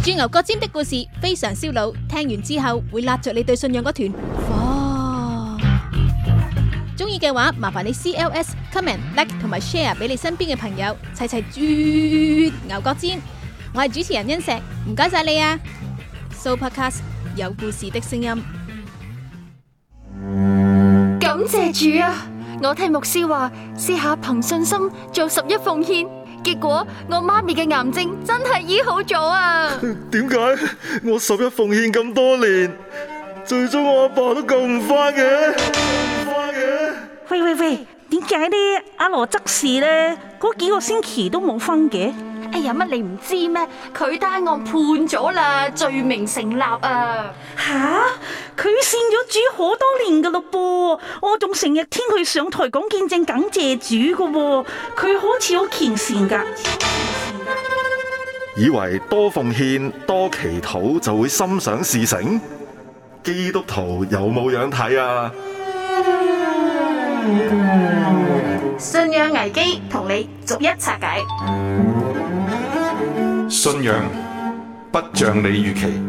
住牛角尖的故事非常燒腦，聽完之後會揦着你對信仰嗰團火。中意嘅話，麻煩你 CLS、comment、like 同埋 share 俾你身邊嘅朋友，齊齊啜牛角尖。我係主持人欣石，唔該晒你啊！Sooopodcast 有故事的聲音。 感謝主啊！我聽牧師話，試下憑信心做11奉獻，結果我媽咪嘅癌症真係醫好咗啊！ 點解我11奉獻咁多年，最終我阿爸都救唔返嘅？ 喂，點解呢？阿羅執事呢？嗰幾個星期都冇分嘅？ 哎呀，乜你唔知咩？佢單案判咗啦，罪名成立啊！ 吓，佢信咗主好多年噶咯噃，我仲成日聽佢上台講見證感謝主噶喎，佢好似好虔善噶。 以為多奉獻多祈禱就會心想事成？基督徒有冇樣睇啊？ 信仰危機同你逐一拆解。 信仰不像你預期。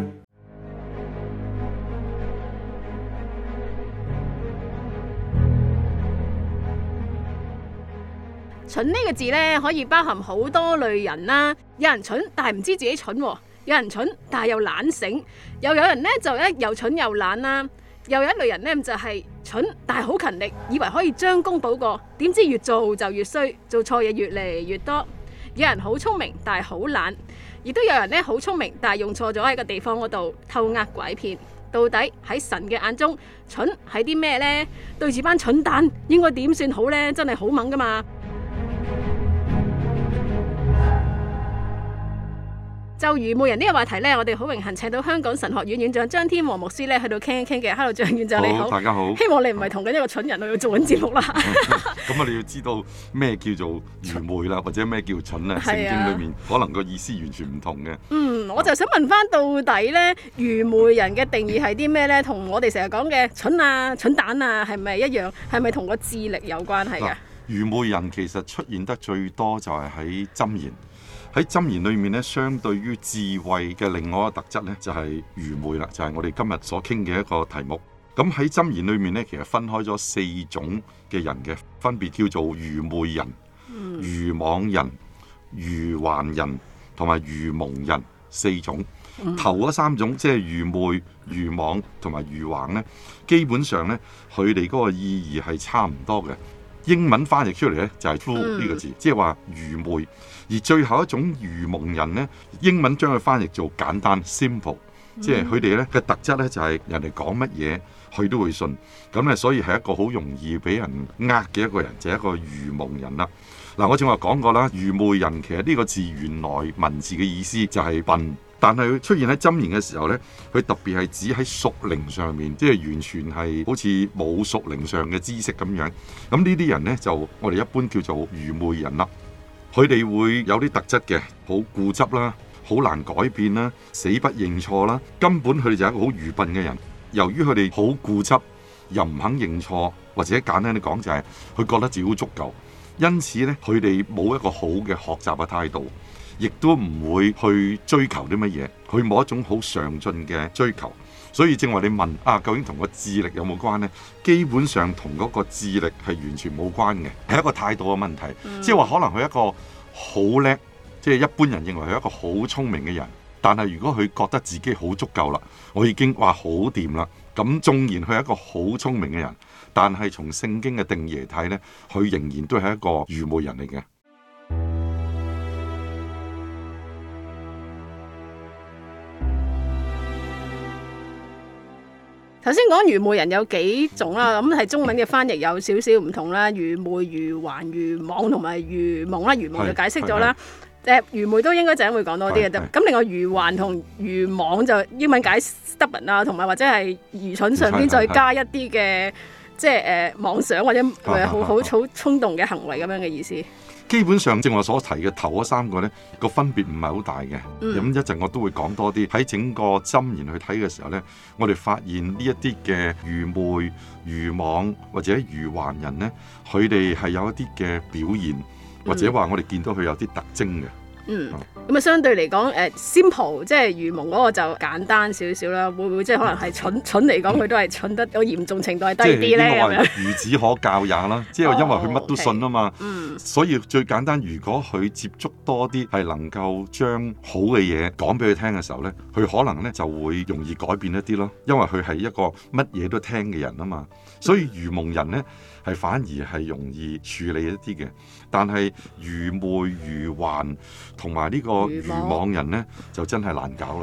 蠢呢個字呢，可以包含好多類人啦。有人蠢，但係唔知自己蠢；有人蠢，但係又懶醒；又有人呢，就又蠢又懶啦。又有一類人呢，就係蠢，但係好勤力，以為可以將功補過，點知越做就越衰，做錯嘢越嚟越多。有人好聰明，但係好懶，亦都有人呢好聰明，但係用錯咗喺個地方嗰度偷呃拐騙。到底喺神嘅眼中，蠢係啲咩呢？對住班蠢蛋，應該點算好呢？真係好猛噶嘛！就愚昧人呢個話題呢，我哋好榮幸請到香港神學院院長張天和牧師呢去到傾一傾嘅。Hello， 張院長你好， 大家好。 希望你唔係同緊一個蠢人去做緊節目啦。 咁我哋要知道咩叫做愚昧啦，或者咩叫蠢啊？聖經裏面可能個意思完全唔同嘅。 我就想問翻到底呢，愚昧人嘅定義係啲咩呢？同我哋成日講嘅蠢啊、蠢蛋啊，係咪一樣？係咪同個智力有關係嘅？ 愚昧人其實出現得最多就係喺箴言。喺箴言裏面咧，相對於智慧嘅另外一個特質咧，就係愚昧啦，就係我哋今日所傾嘅一個題目。咁喺箴言裏面咧，其實分開咗4種嘅人嘅，分別叫做愚昧人、愚妄人、愚頑人同埋愚蒙人4種。頭嗰3種即係愚昧、愚妄同埋愚頑咧，基本上咧佢哋嗰個意義係差唔多嘅。英文翻譯出嚟咧就係 fool 呢個字，即係話愚昧。而最後一種愚蒙人呢，英文將佢翻譯做簡單 simple， 即係佢哋咧嘅特質咧就係人哋講乜嘢佢都會信，咁咧所以係一個好容易俾人呃嘅一個人，就係一個愚蒙人啦。嗱，我正話講過啦，愚昧人其實呢個字原來文字嘅意思就係笨，但係佢出現喺箴言嘅時候呢，佢特別係指喺屬靈上面，即係完全係好似冇屬靈上嘅知識咁樣。咁呢啲人呢，就我哋一般叫做愚昧人啦。佢哋會有啲特質嘅，好固執啦，好難改變啦，死不認錯啦，根本佢哋就係一個好愚笨嘅人。由於佢哋好固執，又唔肯認錯，或者簡單啲講就係佢覺得自己好足夠，因此呢，佢哋冇一個好嘅學習嘅態度，亦都唔會去追求啲乜嘢，佢冇一種好上進嘅追求。所以正話你問啊，究竟同個智力有冇關呢？基本上同嗰個智力係完全冇關嘅，係一個態度嘅問題。即係話可能佢一個好叻，即係一般人認為佢一個好聰明嘅人，但係如果佢覺得自己好足夠啦，我已經話好掂啦，咁縱然佢係一個好聰明嘅人，但係從聖經嘅定義嚟睇呢，佢仍然都係一個愚昧人嚟嘅。 頭先講愚昧人有幾種啦，咁係中文嘅翻譯有少少唔同啦，愚昧、愚頑、愚妄同埋愚蒙啦。愚蒙就解釋咗啦，愚昧都應該陣會講多啲嘅啫。咁另外愚頑同愚妄就英文解 stubborn 啊，同埋或者係愚蠢上邊再加一啲嘅即係妄想或者好衝動嘅行為咁樣嘅意思。 基本上正我所提嘅頭嗰3個呢個分別唔係好大嘅。咁一陣我都會講多啲。喺整個箴言去睇嘅時候呢，我哋發現呢一啲嘅愚昧、愚妄或者愚頑人呢，佢哋係有一啲嘅表現，或者話我哋見到佢有啲特徵嘅。 咁啊，相對嚟講simple 即係愚蒙嗰個就簡單少少啦。會唔會即係可能係蠢嚟講，佢都係蠢得個嚴重程度係低啲咧？咁樣孺子可教也啦，即係因為佢乜都信啊嘛。所以最簡單，如果佢接觸多啲係能夠將好嘅嘢講俾佢聽嘅時候咧，佢可能咧就會容易改變一啲咯。因為佢係一個乜嘢都聽嘅人啊嘛。所以愚蒙人咧係反而係容易處理一啲嘅，但係愚昧、愚頑同埋呢個愚妄人咧就真係難搞啦。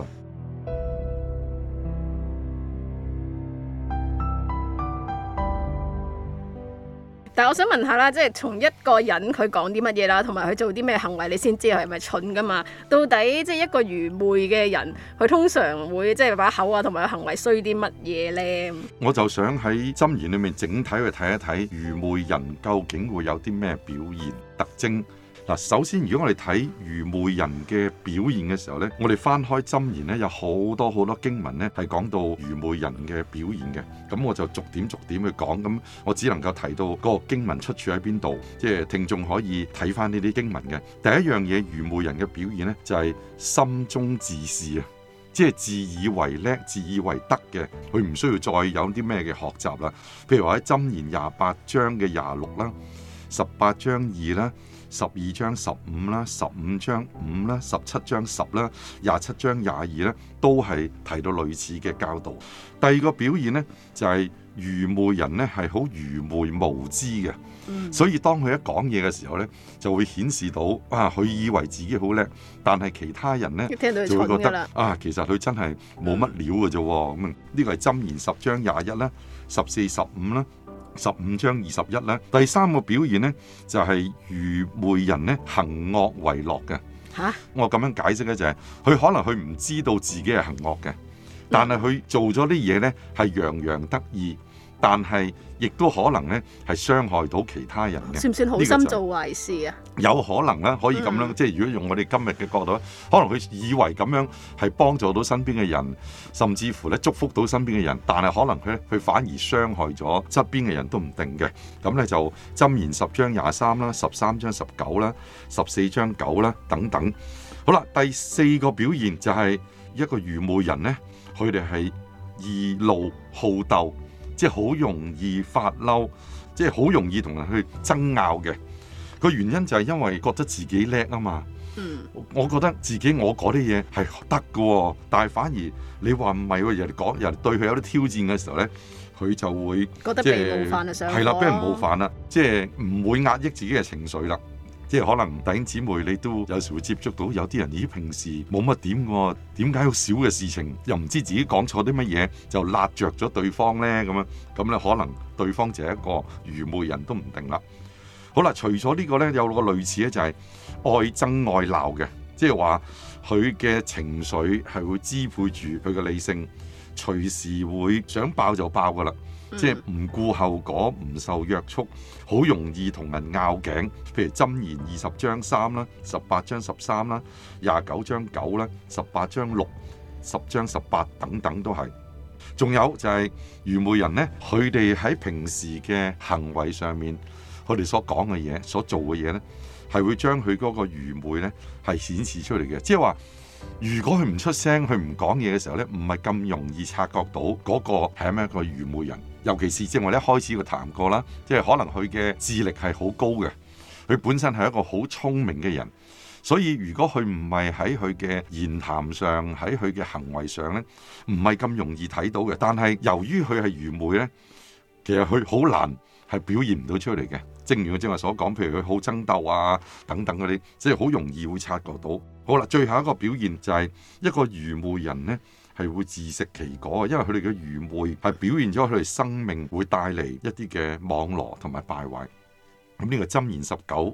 但係我想問下啦，即係從一個人佢講啲乜嘢啦，同埋佢做啲咩行為，你先知佢係咪蠢噶嘛？到底即係一個愚昧嘅人，佢通常會即係把口啊，同埋個行為衰啲乜嘢咧？我就想喺箴言裏面整體去睇一睇愚昧人究竟會有啲咩表現特徵。嗱，首先如果我哋睇愚昧人嘅表現嘅時候呢，我哋翻開箴言呢，有好多經文呢係講到愚昧人嘅表現嘅。咁我就逐點去講，咁我只能夠提到嗰個經文出處喺邊度，即係聽眾可以睇翻呢啲經文嘅。第一樣嘢，愚昧人嘅表現呢，就係心中自是啊，即係自以為叻、自以為得嘅，佢唔需要再有啲咩嘅學習啦。譬如話喺箴言28章嘅26啦、18章2啦、12章15啦、15章5啦、17章10啦、27章22啦，都係提到類似嘅教導。第二個表現呢，就係愚昧人呢係好愚昧無知嘅，所以當佢一講嘢嘅時候呢，就會顯示到佢以為自己好叻，但係其他人呢就會覺得其實佢真係冇乜料嘅啫。咁呢個係箴言10章21啦、14、15啦、15章21啦。第三個表現呢，就係愚昧人呢行惡為樂嘅。我咁樣解釋呢，就係佢可能佢唔知道自己係行惡嘅，但係佢做咗啲嘢呢係洋洋得意，但係亦都可能呢係傷害到其他人嘅。 算唔算好心做壞事啊？ 有可能啦，可以咁樣，即係如果用我哋今日嘅角度，可能佢以為咁樣係幫助到身邊嘅人，甚至乎咧祝福到身邊嘅人，但係可能佢反而傷害咗側邊嘅人都唔定嘅。咁咧就箴言10章23啦、13章19啦、14章9啦等等。好啦，第四個表現就係一個愚昧人呢，佢哋係易怒好鬥，即係好容易發嬲，即係好容易同人去爭拗嘅。個原因就係因為覺得自己叻啊嘛。我覺得自己我嗰啲嘢係得嘅，但係反而你話唔係喎，人哋對佢有啲挑戰嘅時候咧，佢就會覺得被冒犯啊，係啦，俾人冒犯啦，即係唔會壓抑自己嘅情緒啦。即係可能弟兄姊妹你都有時會接觸到有啲人，咦，平時冇乜點喎，點解好少嘅事情又唔知自己講錯啲乜嘢就辣着咗對方咧？咁咧可能對方就係一個愚昧人都唔定啦。好啦，除咗呢個咧，有個類似咧就係愛爭愛鬧嘅，即係話佢嘅情緒係會支配住佢嘅理性，隨時會想爆就爆噶啦。即係唔顧後果，唔受約束，好容易同人拗頸。譬如箴言20章3啦、18章13啦、29章9啦、18章6、10章18等等都係。仲有就係愚昧人呢，佢哋喺平時嘅行為上面，佢哋所講嘅嘢、所做嘅嘢呢，係會將佢嗰個愚昧呢係顯示出嚟嘅。即係話，如果佢唔出聲，佢唔講嘢嘅時候呢，唔係咁容易察覺到嗰個係咪一個愚昧人。尤其是正話一開始佢談過啦，即係可能佢嘅智力係好高嘅，佢本身係一個好聰明嘅人，所以如果佢唔係喺佢嘅言談上，喺佢嘅行為上呢，唔係咁容易睇到嘅。但係由於佢係愚昧呢，其實佢好難係表現唔到出嚟嘅。正如我正話所講，譬如佢好爭鬥啊等等嗰啲，即係好容易會察覺到。好啦，最後一個表現就係一個愚昧人呢，係會自食其果，因為佢哋嘅愚昧係表現咗佢哋生命會帶嚟一啲嘅網羅同埋敗壞。咁呢個箴言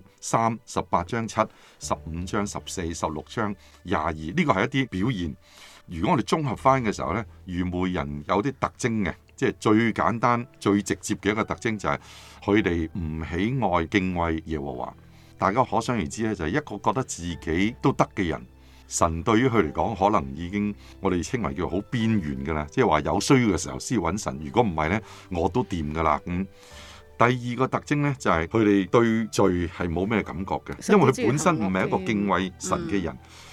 19、3、18章7、15章14、16章22，呢個係一啲表現。如果我哋綜合翻嘅時候呢，愚昧人有啲特徵嘅，即係最簡單、最直接嘅一個特徵就係佢哋唔喜愛敬畏耶和華。大家可想而知咧，就係一個覺得自己都得嘅人，神對於佢嚟講可能已經我哋稱為叫好邊緣噶啦，即係話有需要嘅時候先揾神，如果唔係呢，我都掂噶啦。第二個特徵呢，就係佢哋對罪係冇咩感覺嘅，因為佢本身唔係一個敬畏神嘅人，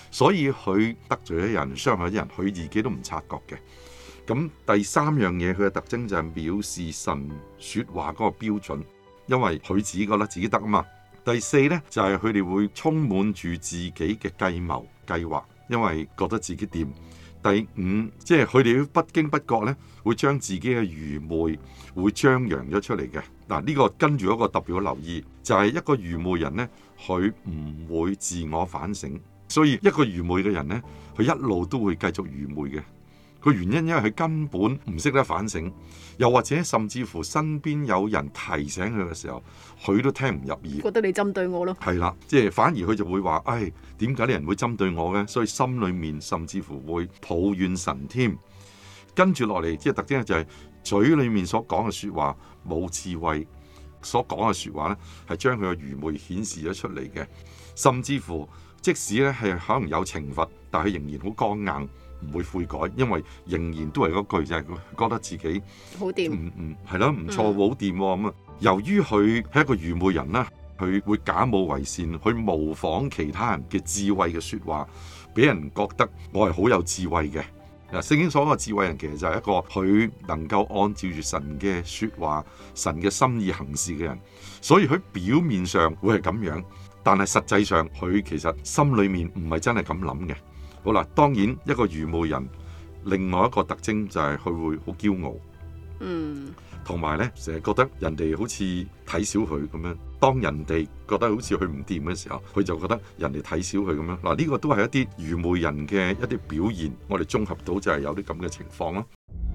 所以佢得罪咗人、傷害咗人，佢自己都唔察覺嘅。咁第三樣嘢，佢嘅特徵就係藐視神說話嗰個標準，因為佢自己覺得自己得啊嘛。第四呢，就係佢哋會充滿住自己嘅計謀計劃，因為覺得自己掂。第五，即係佢哋不經不覺呢，會將自己嘅愚昧會張揚咗出嚟嘅。嗱，呢個跟住一個特別嘅留意，就係一個愚昧人呢，佢唔會自我反省，所以一個愚昧嘅人呢，佢一路都會繼續愚昧嘅。個原因因為佢根本唔識得反省，又或者甚至乎身邊有人提醒佢嘅時候，佢都聽唔入耳， 覺得你針對我咯。 係啦，即係反而佢就會話：唉，點解啲人會針對我嘅？所以心裏面甚至乎會抱怨神添。跟住落嚟，即係特徵就係嘴裏面所講嘅説話冇智慧，所講嘅説話呢係將佢嘅愚昧顯示咗出嚟嘅。甚至乎即使呢係可能有懲罰，但係仍然好剛硬。唔會悔改，因為仍然都係嗰句，就係佢覺得自己好掂， 係咯，唔錯，好掂咁啊！由於佢係一個愚昧人啦，佢會假冒為善，去模仿其他人嘅智慧嘅説話，俾人覺得我係好有智慧嘅。嗱，聖經所講嘅智慧人，其實就係一個佢能夠按照住神嘅説話、神嘅心意行事嘅人。所以佢表面上會係咁樣，但係實際上佢其實心裏面唔係真係咁諗嘅。好啦，當然一個愚昧人，另外一個特徵就係佢會好驕傲，同埋呢成日覺得人哋好似睇小佢咁樣。當人哋覺得好似佢唔掂嘅時候，佢就覺得人哋睇小佢咁樣。嗱，呢個都係一啲愚昧人嘅一啲表現。我哋綜合到就係有啲咁嘅情況咯。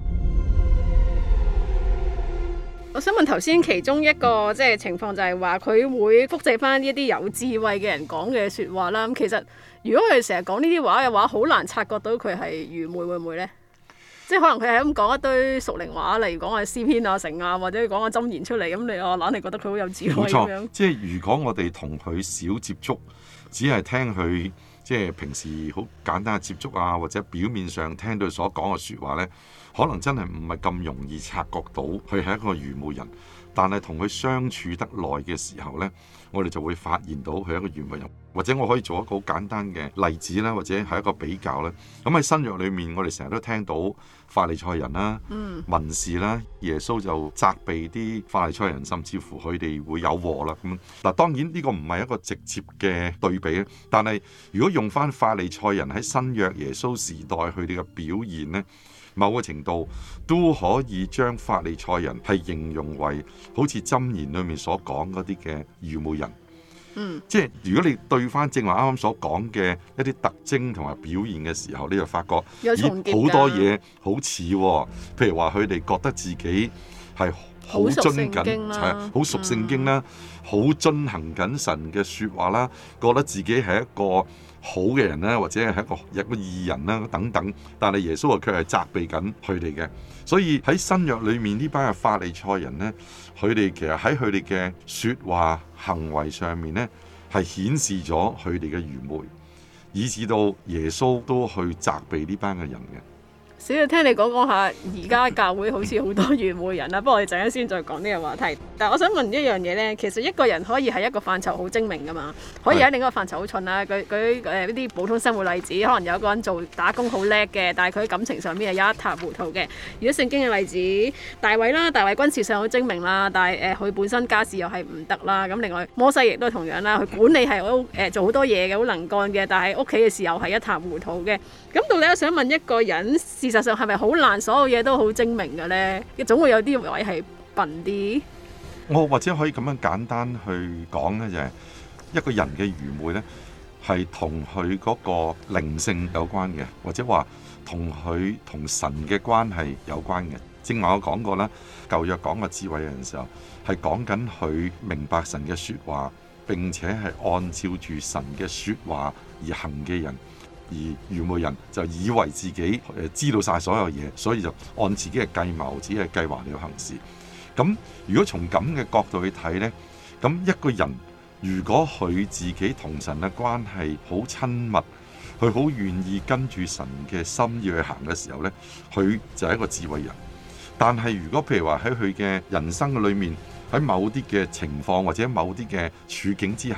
我想問頭先其中一個即係情況就係話佢會複製翻呢一啲有智慧嘅人講嘅説話啦。咁其實如果佢成日講呢啲話嘅話，好難察覺到佢係愚昧，會唔會呢？即係可能佢係咁講一堆屬靈話，例如講下詩篇啊、成啊，或者講下箴言出嚟，咁你懶係覺得佢好有智慧咁樣。 冇錯，即係如果我哋同佢少接觸，只係聽佢即係平時好簡單嘅接觸啊，或者表面上聽到佢所講嘅説話呢，可能真係唔係咁容易察覺到佢係一個愚昧人。但係同佢相處得耐嘅時候呢，我哋就會發現到佢係一個愚昧人。或者我可以做一個好簡單嘅例子啦，或者係一個比較啦。咁喺新約裏面，我哋成日都聽到法利賽人啦、文士啦，耶穌就責備啲法利賽人，甚至乎佢哋會有禍啦。咁嗱，當然呢個唔係一個直接嘅對比咧。但係如果用翻法利賽人喺新約耶穌時代佢哋嘅表現呢，某個程度都可以將法利賽人係形容為好似箴言裏面所講嗰啲嘅愚昧人。即係如果你對翻正話啱啱所講嘅一啲特徵同埋表現嘅時候，你就發覺好多嘢好似喎。譬如話佢哋覺得自己係好遵緊，好熟聖經啦，好遵行緊神嘅説話啦，覺得自己係一個好嘅人啦，或者係一個義人啦等等。但係耶穌啊，佢係責備緊佢哋嘅。所以喺新約裏面呢班嘅法利賽人呢，佢哋其實喺佢哋嘅説話行為上面呢，係顯示咗佢哋嘅愚昧，以至到耶穌都去責備呢班嘅人嘅。 少少聽你講下，而家教會好似好多愚昧人啦。不過我哋陣間先再講呢個話題。但係我想問一樣嘢呢，其實一個人可以係一個範疇好精明噶嘛，可以喺另一個範疇好蠢啦。舉呢啲普通生活例子，可能有一個人做打工好叻嘅，但係佢喺感情上面係一塌糊塗嘅。如果聖經嘅例子，大衛啦，大衛軍事上好精明啦，但係佢本身家事又係唔得啦。咁另外摩西亦都同樣啦，佢管理係好做好多嘢嘅，好能幹嘅，但係屋企嘅時候係一塌糊塗嘅。咁到底我想問一個人，事實上係咪好難所有嘢都好精明嘅呢？總會有啲位係笨啲。 我或者可以咁樣簡單去講呢，就係一個人嘅愚昧呢，係同佢嗰個靈性有關嘅，或者話同佢同神嘅關係有關嘅。正話我講過啦，舊約講個智慧人嘅時候，係講緊佢明白神嘅説話，並且係按照住神嘅説話而行嘅人。而愚昧人就以為自己知道晒所有嘢，所以就按自己嘅計謀、自己嘅計劃嚟行事。咁如果從咁嘅角度去睇呢，咁一個人如果佢自己同神嘅關係好親密，佢好願意跟住神嘅心意去行嘅時候呢，佢就係一個智慧人。但係如果譬如話喺佢嘅人生嘅裏面，喺某啲嘅情況或者某啲嘅處境之下，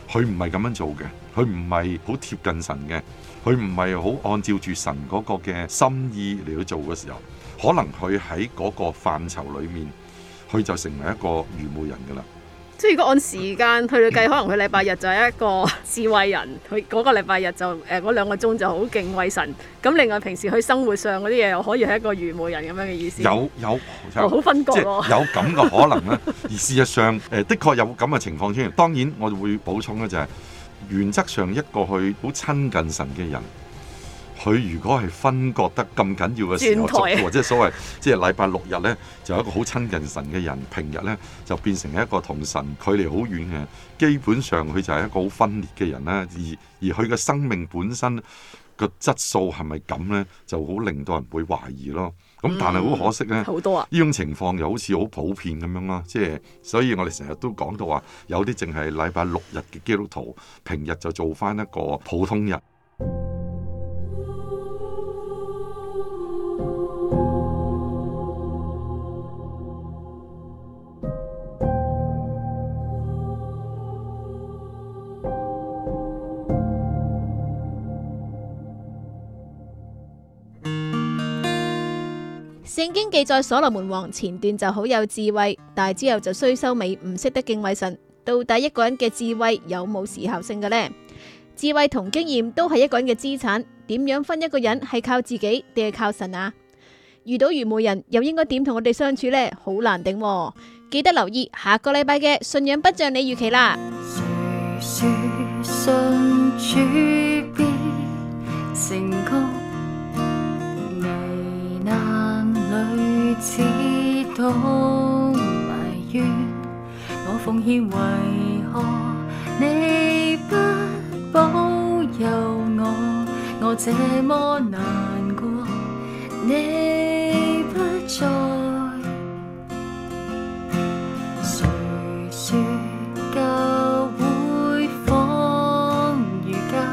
佢唔係咁樣做嘅，佢唔係好貼近神嘅，佢唔係好按照住神嗰個嘅心意嚟去做嘅時候，可能佢喺嗰個範疇裏面，佢就成為一個愚昧人噶啦。 即係如果按時間去計，可能佢禮拜日就係一個智慧人，佢嗰個禮拜日就嗰2個鐘就好敬畏神。咁另外平時佢生活上嗰啲嘢又可以係一個愚昧人咁樣嘅意思。 有好分割喎， 即係有咁嘅可能咧。而事實上的確有咁嘅情況出現。當然我會補充咧，就係原則上一個去好親近神嘅人，佢如果係分割得咁緊要嘅時候，或者所謂即係禮拜6日呢，就有一個好親近神嘅人，平日呢，就變成一個同神距離好遠嘅，基本上佢就係一個好分裂嘅人啦。而佢嘅生命本身個質素係咪咁呢？就好令到人會懷疑咯。咁但係好可惜呢， 好多呢種情況又好似好普遍咁樣啦。即係所以我哋成日都講到話，有啲淨係禮拜6日嘅基督徒，平日就做翻一個普通日。 聖經記載所羅門王前段就好有智慧，但係之後就衰收尾，唔識得敬畏神。到底一個人嘅智慧有冇時效性嘅呢？智慧同經驗都係一個人嘅資產，點樣分一個人係靠自己定係靠神啊？遇到愚昧人又應該點同我哋相處呢？好難頂喎。記得留意下個禮拜嘅信仰不像你預期啦。 誰說信主必成功？危難裏只懂埋怨，我奉獻為何你不保佑我？我這麼難過，你不在。誰說教會仿如家，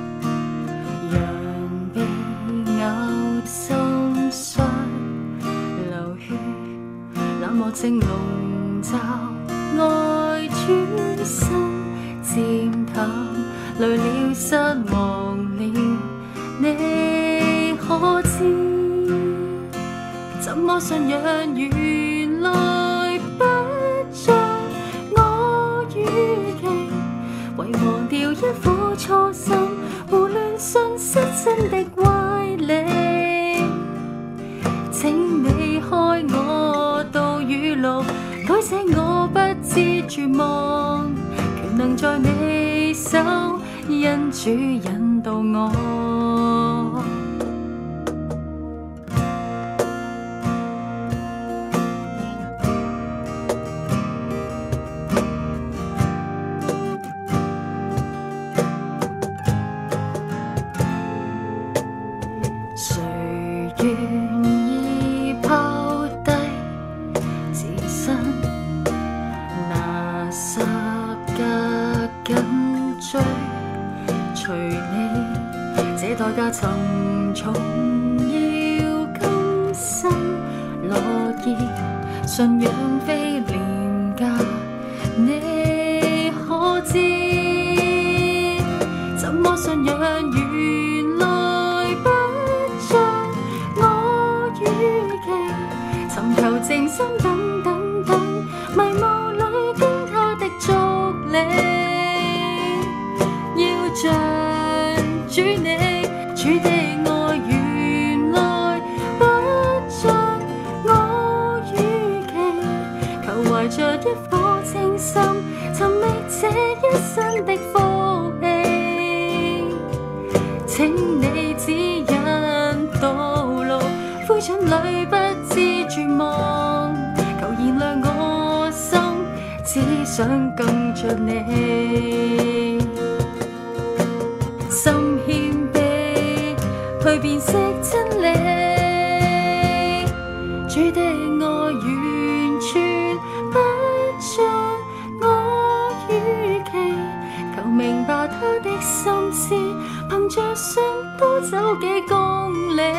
人被咬心傷流血，冷漠正籠罩，愛轉身漸淡，累了失望了，你可知？怎麼信仰原來不像我預期，遺忘掉一顆初心，胡亂信失真的歪理。請你開我道與路，改寫我不知絕望，權能在你手，因主引導我。誰願意拋低自身，拿十架緊追，隨你這代價沉重，要甘心樂意，信仰非廉價，你可知？怎麼信仰原來不像我預期，尋求靜心等等等，迷霧裏經他的足理，要像主你，主的愛原來不像我預期，求懷着一顆清心，尋覓這一生的福氣，請你指引道路，灰燼裏不知絕望，求燃亮我心，只想跟着你，心謙卑去辨識真理，主的愛完全不像我預期，求明白他的心思，憑着信多走幾公里，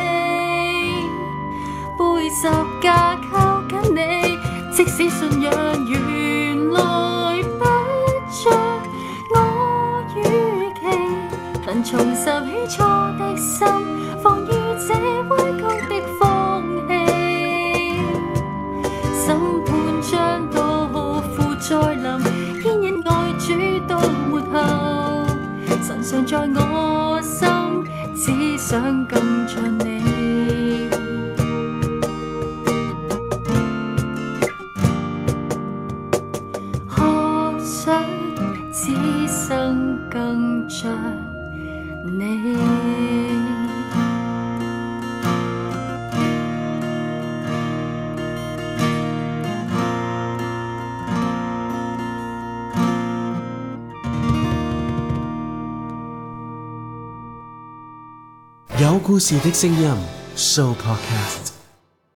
背十架靠緊你，即使信仰原來不像我重拾起初的心，防禦這危急的風氣。審判將到，負再臨，牽引愛主到末後。神常在我心，只想更像你。渴想此生更像你。 有故事的聲音 Show Podcast。